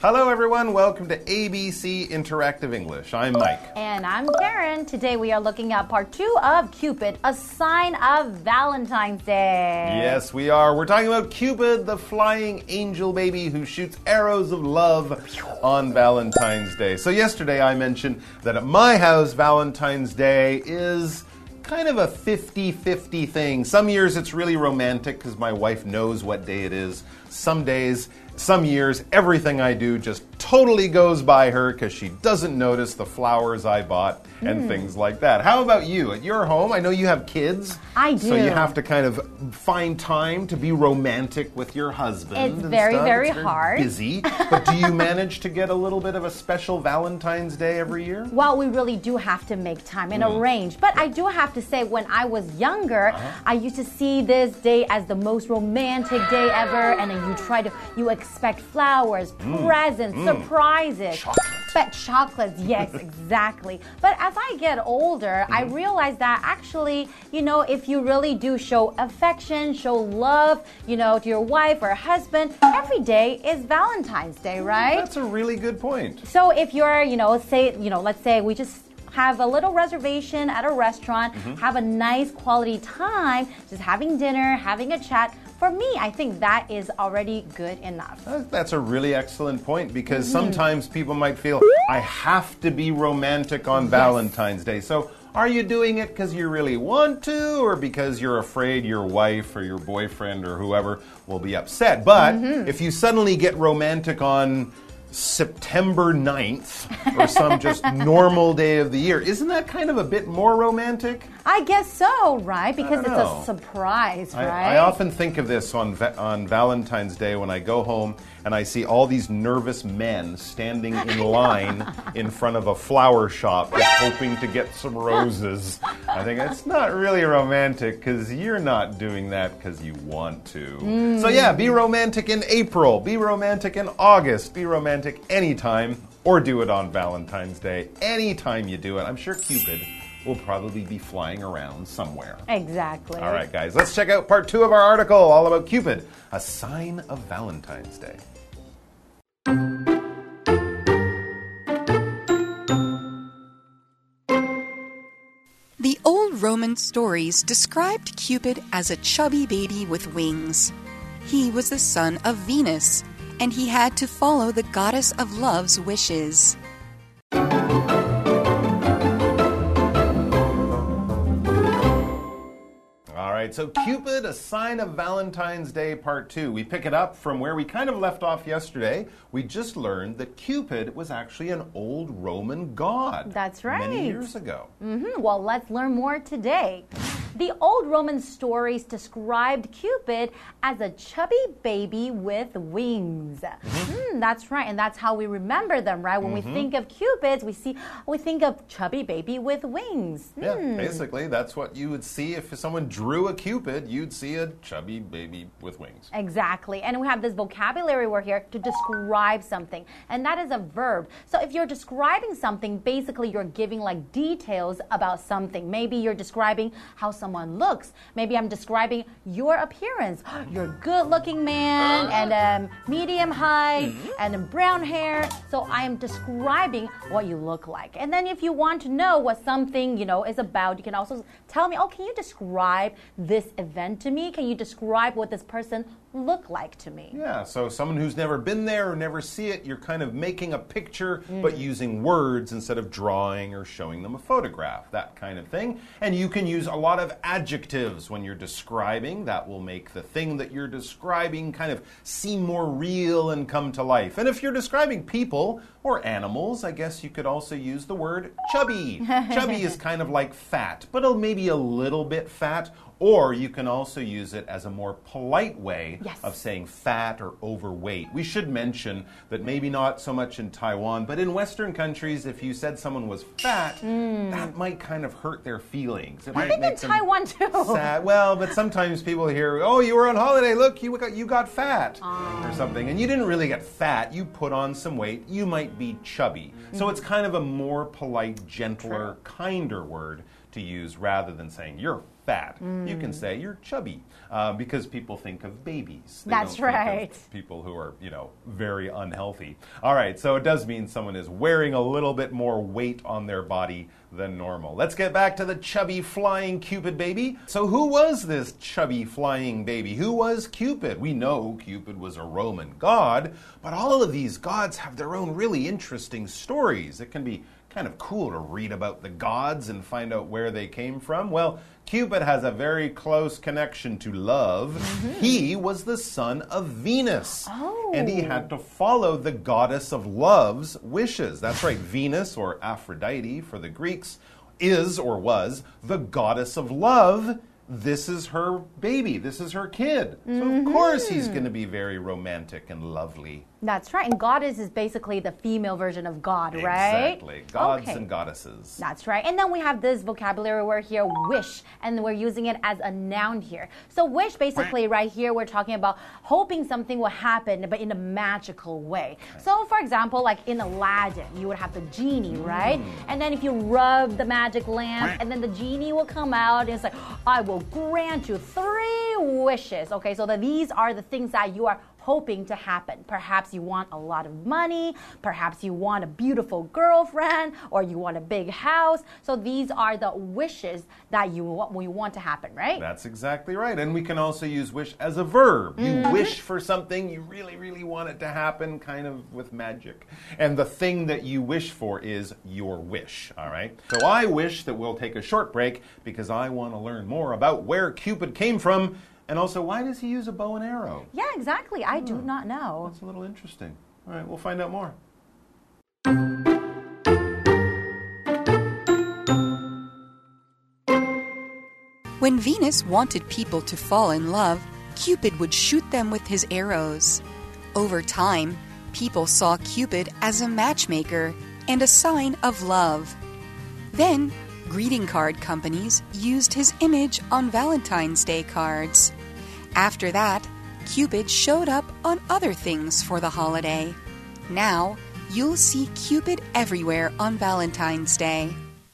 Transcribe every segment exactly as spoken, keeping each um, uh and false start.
Hello, everyone. Welcome to A B C Interactive English. I'm Mike. And I'm Karen. Today we are looking at part two of Cupid, a sign of Valentine's Day. Yes, we are. We're talking about Cupid, the flying angel baby who shoots arrows of love on Valentine's Day. So yesterday I mentioned that at my house, Valentine's Day is kind of a fifty-fifty thing. Some years it's really romantic because my wife knows what day it is. Some days, some years, everything I do just totally goes by her because she doesn't notice the flowers I bought and mm. things like that. How about you? At your home, I know you have kids. I do. So you have to kind of find time to be romantic with your husband. It's and very, stuff. very, it's very hard. busy. But do you manage to get a little bit of a special Valentine's Day every year? Well, we really do have to make time and mm. arrange. But I do have to say, when I was younger, uh-huh. I used to see this day as the most romantic day ever. And then you try to, you expect flowers, mm. presents, mm. surprises. Chocolate. But chocolates, yes, exactly. But as I get older, mm-hmm. I realize that actually, you know, if you really do show affection, show love, you know, to your wife or husband, every day is Valentine's Day, right? That's a really good point. So if you're, you know, say, you know, let's say we just have a little reservation at a restaurant, mm-hmm. have a nice quality time, just having dinner, having a chat. For me, I think that is already good enough. That's a really excellent point because mm-hmm. sometimes people might feel, I have to be romantic on yes. Valentine's Day. So are you doing it because you really want to or because you're afraid your wife or your boyfriend or whoever will be upset? But mm-hmm. if you suddenly get romantic on September ninth or some just normal day of the year, isn't that kind of a bit more romantic? I guess so, right? Because it's a surprise, I, right? I often think of this on on Valentine's Day when I go home and I see all these nervous men standing in line in front of a flower shop just hoping to get some roses. I think it's not really romantic because you're not doing that because you want to. Mm. So yeah, be romantic in April, be romantic in August, be romantic anytime, or do it on Valentine's Day. Anytime you do it, I'm sure Cupid will probably be flying around somewhere. Exactly. All right, guys, let's check out part two of our article all about Cupid, a sign of Valentine's Day. The old Roman stories described Cupid as a chubby baby with wings. He was the son of Venus, and he had to follow the goddess of love's wishes. So Cupid, a sign of Valentine's Day, part two. We pick it up from where we kind of left off yesterday. We just learned that Cupid was actually an old Roman god. That's right. Many years ago. Mm-hmm. Well, let's learn more today. The old Roman stories described Cupid as a chubby baby with wings. Mm-hmm. Mm, that's right, and that's how we remember them, right? When mm-hmm. we think of Cupids, we see we think of chubby baby with wings. Yeah, mm. basically, that's what you would see if someone drew a Cupid. You'd see a chubby baby with wings. Exactly, and we have this vocabulary word here to describe something, and that is a verb. So if you're describing something, basically you're giving like details about something. Maybe you're describing how something someone looks. Maybe I'm describing your appearance. You're a good-looking man and um, medium height and brown hair. So I am describing what you look like. And then if you want to know what something, you know, is about, you can also tell me, oh, can you describe this event to me? Can you describe what this person look like to me? Yeah, so someone who's never been there or never see it, you're kind of making a picture mm. but using words instead of drawing or showing them a photograph, that kind of thing. And you can use a lot of adjectives when you're describing. That will make the thing that you're describing kind of seem more real and come to life. And if you're describing people or animals, I guess you could also use the word chubby. Chubby is kind of like fat, but maybe a little bit fat. Or you can also use it as a more polite way yes. of saying fat or overweight. We should mention that maybe not so much in Taiwan, but in Western countries, if you said someone was fat, mm. that might kind of hurt their feelings. It I might think make in Taiwan too. Sad. Well, but sometimes people hear, oh, you were on holiday, look, you got, you got fat um. or something. And you didn't really get fat, you put on some weight, you might be chubby. Mm. So it's kind of a more polite, gentler, True. kinder word to use rather than saying you're fat. Mm. You can say you're chubby uh, because people think of babies. They That's don't right. Think of people who are, you know, very unhealthy. All right, so it does mean someone is wearing a little bit more weight on their body than normal. Let's get back to the chubby flying Cupid baby. So who was this chubby flying baby? Who was Cupid? We know Cupid was a Roman god, but all of these gods have their own really interesting stories. It can be kind of cool to read about the gods and find out where they came from. Well, Cupid has a very close connection to love. Mm-hmm. He was the son of Venus. Oh. And he had to follow the goddess of love's wishes. That's right, Venus, or Aphrodite for the Greeks, is or was the goddess of love. This is her baby. This is her kid. Mm-hmm. So, of course, he's going to be very romantic and lovely. That's right. And goddess is basically the female version of God, right? Exactly. Gods okay. and goddesses. That's right. And then we have this vocabulary word here, wish, and we're using it as a noun here. So wish, basically, right here, we're talking about hoping something will happen, but in a magical way. Okay. So, for example, like in Aladdin, you would have the genie, right? Mm. And then if you rub the magic lamp, and then the genie will come out, and it's like, I will grant you three wishes. Okay, so that these are the things that you are hoping to happen. Perhaps you want a lot of money, perhaps you want a beautiful girlfriend, or you want a big house. So these are the wishes that you want, you want to happen, right? That's exactly right. And we can also use wish as a verb. You mm-hmm. wish for something, you really, really want it to happen, kind of with magic. And the thing that you wish for is your wish, all right? So I wish that we'll take a short break because I want to learn more about where Cupid came from. And also, why does he use a bow and arrow? Yeah, exactly. I oh, do not know. That's a little interesting. All right, we'll find out more. When Venus wanted people to fall in love, Cupid would shoot them with his arrows. Over time, people saw Cupid as a matchmaker and a sign of love. Then, greeting card companies used his image on Valentine's Day cards. After that, Cupid showed up on other things for the holiday. Now, you'll see Cupid everywhere on Valentine's Day.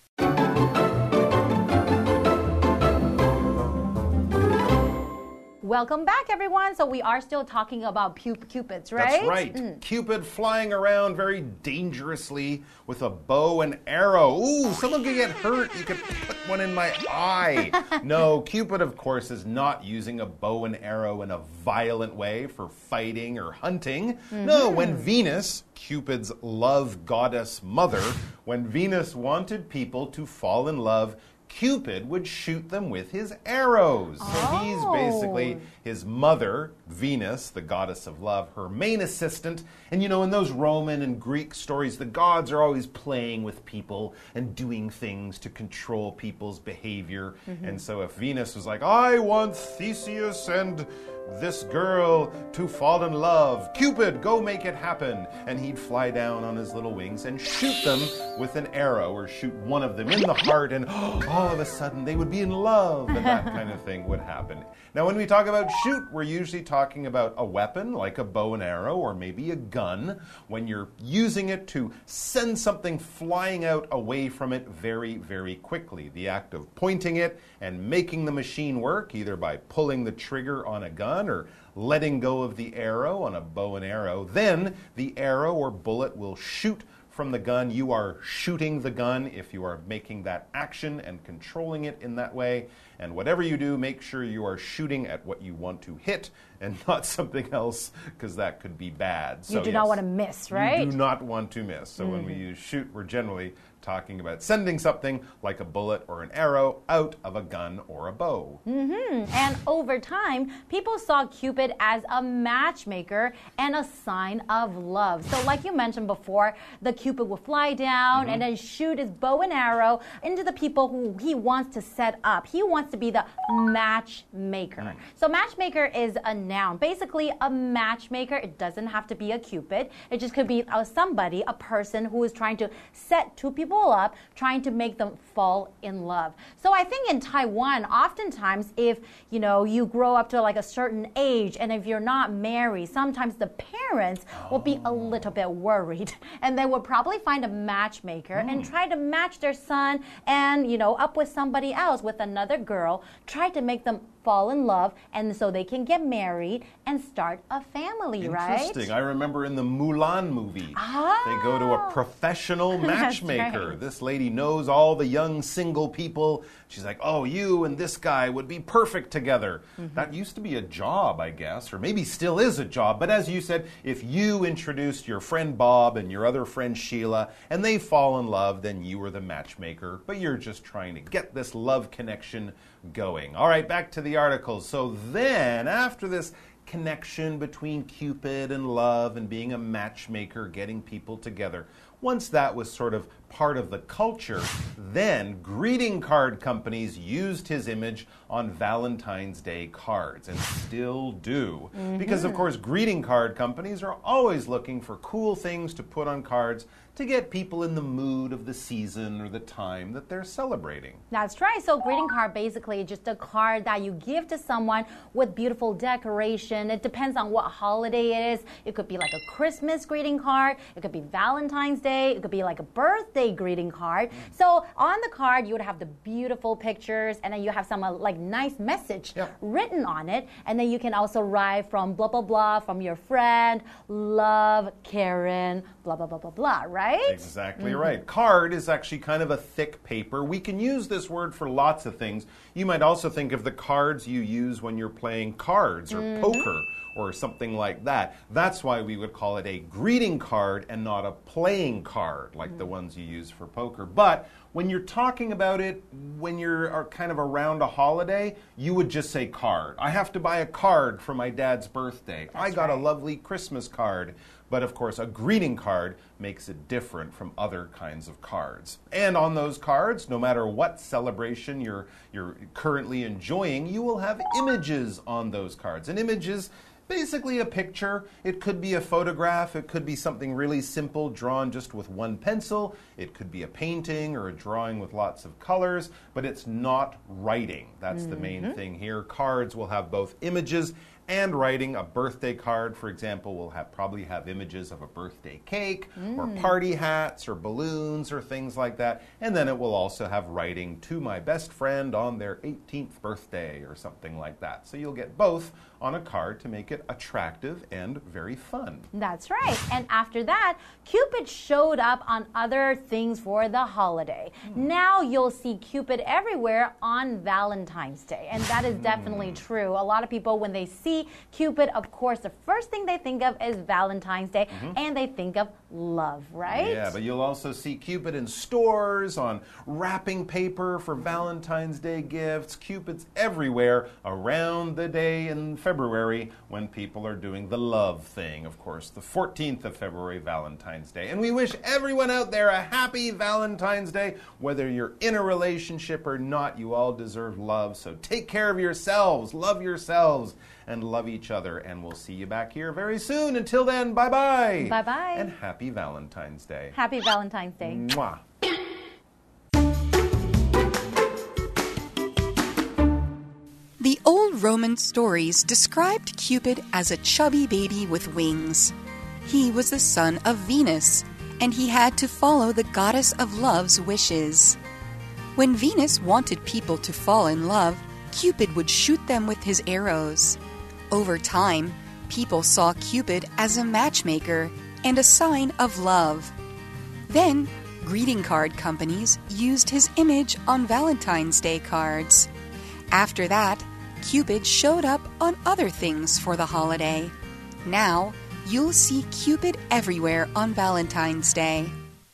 Welcome back, everyone. So we are still talking about cupids, right? That's right. Mm. Cupid flying around very dangerously with a bow and arrow. Ooh, someone could get hurt. You could put one in my eye. No, Cupid, of course, is not using a bow and arrow in a violent way for fighting or hunting. Mm-hmm. No, when Venus, Cupid's love goddess mother, when Venus wanted people to fall in love, Cupid would shoot them with his arrows. Oh. So he's basically his mother, Venus, the goddess of love, her main assistant. And you know, in those Roman and Greek stories, the gods are always playing with people and doing things to control people's behavior. Mm-hmm. And so if Venus was like, I want Theseus and this girl to fall in love, Cupid, go make it happen. And he'd fly down on his little wings and shoot them with an arrow, or shoot one of them in the heart, and oh, all of a sudden they would be in love, and that kind of thing would happen. Now, when we talk about shoot, we're usually talking about a weapon like a bow and arrow, or maybe a gun, when you're using it to send something flying out away from it very, very quickly. The act of pointing it and making the machine work, either by pulling the trigger on a gun or letting go of the arrow on a bow and arrow. Then the arrow or bullet will shoot from the gun. You are shooting the gun if you are making that action and controlling it in that way. And whatever you do, make sure you are shooting at what you want to hit and not something else, because that could be bad. So, you do yes, not want to miss, right? You do not want to miss. So mm-hmm. when we use shoot, we're generally talking about sending something like a bullet or an arrow out of a gun or a bow. Mm-hmm. And over time, people saw Cupid as a matchmaker and a sign of love. So like you mentioned before, the Cupid will fly down mm-hmm. and then shoot his bow and arrow into the people who he wants to set up. He wants to be the matchmaker. Mm. So matchmaker is a noun. Basically, a matchmaker, it doesn't have to be a Cupid. It just could be uh, somebody, a person who is trying to set two people people up, trying to make them fall in love. So I think in Taiwan, oftentimes if, you know, you grow up to like a certain age and if you're not married, sometimes the parents will be a little bit worried and they would probably find a matchmaker mm. and try to match their son and, you know, up with somebody else, with another girl, try to make them fall in love, and so they can get married and start a family, right? Interesting. I remember in the Mulan movie, ah, they go to a professional matchmaker. Right. This lady knows all the young single people. She's like, oh, you and this guy would be perfect together. Mm-hmm. That used to be a job, I guess, or maybe still is a job. But as you said, if you introduced your friend Bob and your other friend Sheila, and they fall in love, then you were the matchmaker. But you're just trying to get this love connection going. All right, back to the articles. So then, after this connection between Cupid and love and being a matchmaker, getting people together, once that was sort of part of the culture, then greeting card companies used his image on Valentine's Day cards, and still do. Mm-hmm. Because, of course, greeting card companies are always looking for cool things to put on cards to get people in the mood of the season or the time that they're celebrating. That's right. So greeting card basically just a card that you give to someone with beautiful decoration. It depends on what holiday it is. It could be like a Christmas greeting card. It could be Valentine's Day. It could be like a birthday greeting card. So on the card, you would have the beautiful pictures, and then you have some uh, like nice message yep. written on it. And then you can also write from blah, blah, blah, from your friend, love, Karen, blah, blah, blah, blah, blah, right? Exactly mm-hmm. right. Card is actually kind of a thick paper. We can use this word for lots of things. You might also think of the cards you use when you're playing cards or mm-hmm. poker or something like that. That's why we would call it a greeting card and not a playing card like mm-hmm. the ones you use for poker. But when you're talking about it, when you're kind of around a holiday, you would just say card. I have to buy a card for my dad's birthday. That's I got right. a lovely Christmas card. But of course, a greeting card makes it different from other kinds of cards. And on those cards, no matter what celebration you're, you're currently enjoying, you will have images on those cards. An image is basically a picture. It could be a photograph. It could be something really simple, drawn just with one pencil. It could be a painting or a drawing with lots of colors, but it's not writing. That's mm-hmm. the main thing here. Cards will have both images and writing. A birthday card, for example, will have probably have images of a birthday cake mm. or party hats or balloons or things like that. And then it will also have writing, to my best friend on their eighteenth birthday or something like that. So you'll get both on a card to make it attractive and very fun. That's right. And after that, Cupid showed up on other things for the holiday. Mm. Now you'll see Cupid everywhere on Valentine's Day. And that is definitely mm. true. A lot of people, when they see Cupid, of course, the first thing they think of is Valentine's Day, mm-hmm. and they think of love, right? Yeah, but you'll also see Cupid in stores, on wrapping paper for Valentine's Day gifts. Cupid's everywhere around the day in February when people are doing the love thing. Of course, the fourteenth of February, Valentine's Day. And we wish everyone out there a happy Valentine's Day. Whether you're in a relationship or not, you all deserve love. So take care of yourselves, love yourselves, and love each other. And we'll see you back here very soon. Until then, bye-bye. Bye-bye. And happy Valentine's Day. Happy Valentine's Day. Mwah. The old Roman stories described Cupid as a chubby baby with wings. He was the son of Venus, and he had to follow the goddess of love's wishes. When Venus wanted people to fall in love, Cupid would shoot them with his arrows. Over time, people saw Cupid as a matchmaker and a sign of love. Then, greeting card companies used his image on Valentine's Day cards. After that, Cupid showed up on other things for the holiday. Now, you'll see Cupid everywhere on Valentine's Day.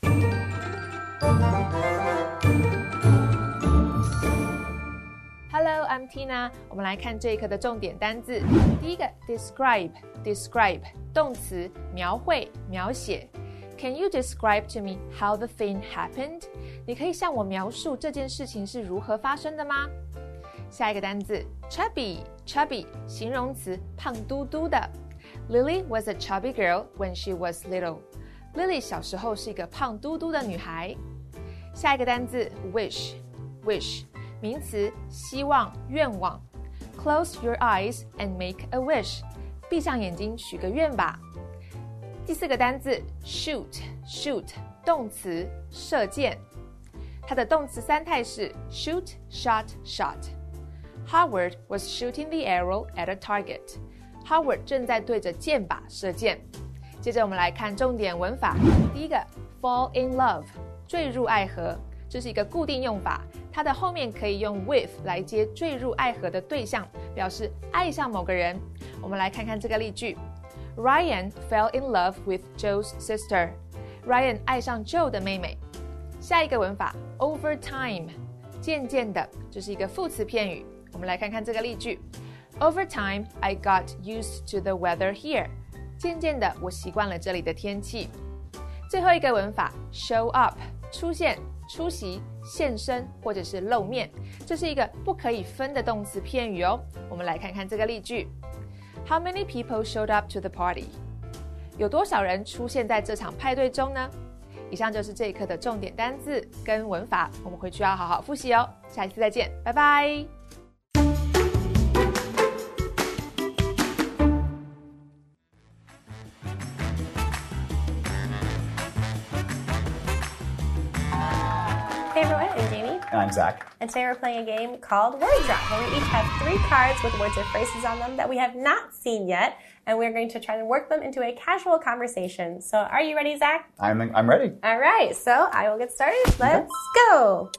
Hello, I'm Tina. 我们来看这一课的重点单字。第一个 describe describe 动詞描繪描寫。Can you describe to me how the thing happened? 你可以向我描述这件事情是如何发生的吗？下一個單字 chubby chubby 形容詞胖嘟嘟的。Lily was a chubby girl when she was little. Lily 小時候是一個胖嘟嘟的女孩。 下一個單字 wish wish 名詞希望願望 Close your eyes and make a wish 閉上眼睛許個願吧。第四個單字 shoot shoot 動詞射箭，它的動詞三態是 shoot shot shot。 Howard was shooting the arrow at a target。 Howard 正在對着箭靶射箭。接着我們來看重點文法。第一個 fall in love 墜入愛河，這是一個固定用法，它的後面可以用 with 來接墜入愛河的對象，表示愛上某個人。我們來看看這個例句 Ryan fell in love with Joe's sister。 Ryan 愛上 Joe 的妹妹。下一個文法 over time 漸漸的，這是一個副詞片語。我們來看看這個例句 Over time I got used to the weather here。 漸漸的我習慣了這裡的天氣。最後一個文法 show up 出現出席現身或者是露面，這是一個不可以分的動詞片語哦。我們來看看這個例句 How many people showed up to the party？ 有多少人出現在這場派對中呢？以上就是這一課的重點單字跟文法，我們回去要好好複習哦。下一次再見，拜拜。 Hey everyone, I'm Jamie. And I'm Zach. And today we're playing a game called Word Drop, where we each have three cards with words or phrases on them that we have not seen yet, and we're going to try to work them into a casual conversation. So are you ready, Zach? I'm, I'm ready. All right, so I will get started. Let's okay. go.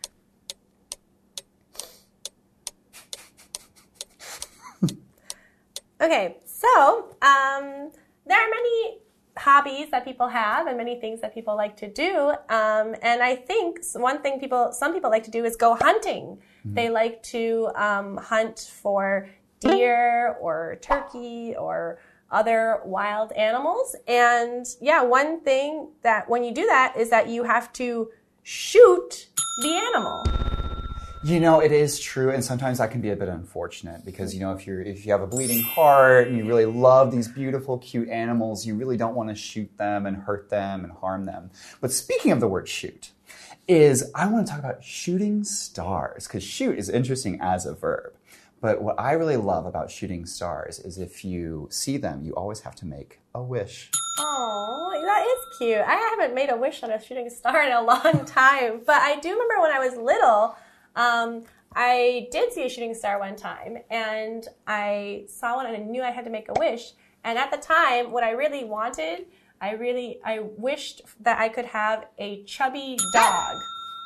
Okay, so um, there are many hobbies that people have and many things that people like to do. Um, and I think one thing people, some people like to do is go hunting. Mm-hmm. They like to um, hunt for deer or turkey or other wild animals. And yeah, one thing that when you do that is that you have to shoot the animal. You know, it is true, and sometimes that can be a bit unfortunate because, you know, if you're if you have a bleeding heart and you really love these beautiful, cute animals, you really don't want to shoot them and hurt them and harm them. But speaking of the word shoot, is I want to talk about shooting stars, because shoot is interesting as a verb. But what I really love about shooting stars is if you see them, you always have to make a wish. Oh, that is cute. I haven't made a wish on a shooting star in a long time, but I do remember when I was little, Um, I did see a shooting star one time, and I saw one and I knew I had to make a wish. And at the time, what I really wanted, I really, I wished that I could have a chubby dog.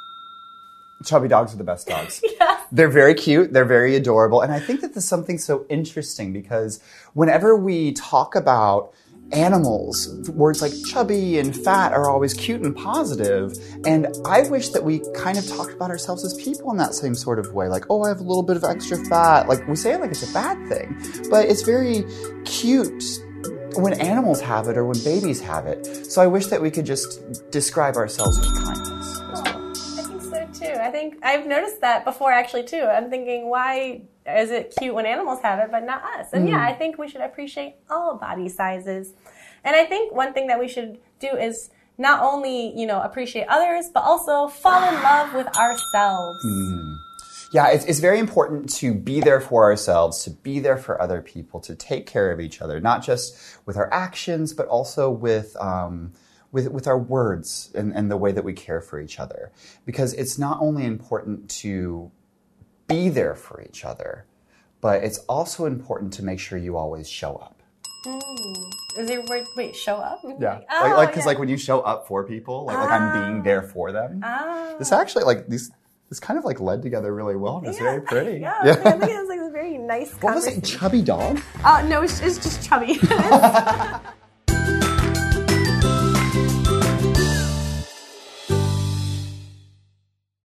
Chubby dogs are the best dogs. Yes. They're very cute. They're very adorable. And I think that there's something so interesting because whenever we talk about animals, words like chubby and fat are always cute and positive. And I wish that we kind of talked about ourselves as people in that same sort of way. Like, oh, I have a little bit of extra fat. Like, we say it like it's a bad thing. But it's very cute when animals have it or when babies have it. So I wish that we could just describe ourselves with kindness as well. I think so too. I think I've noticed that before actually too. I'm thinking, why is it cute when animals have it but not us? And mm. yeah, I think we should appreciate all body sizes. And I think one thing that we should do is not only, you know, appreciate others, but also fall in love with ourselves. Mm. Yeah, it's, it's very important to be there for ourselves, to be there for other people, to take care of each other, not just with our actions, but also with um, with, with our words and, and the way that we care for each other. Because it's not only important to be there for each other, but it's also important to make sure you always show up. Mm. Is your word, wait, show up? Yeah. Like, oh, like, like, cause yeah. like when you show up for people, like, oh. like I'm being there for them. Oh. This actually, like, these, this kind of like led together really well, and it's yeah. very pretty. Yeah, yeah. I think it was like a very nice What was it, chubby dog? Oh, uh, no, it's, it's just chubby.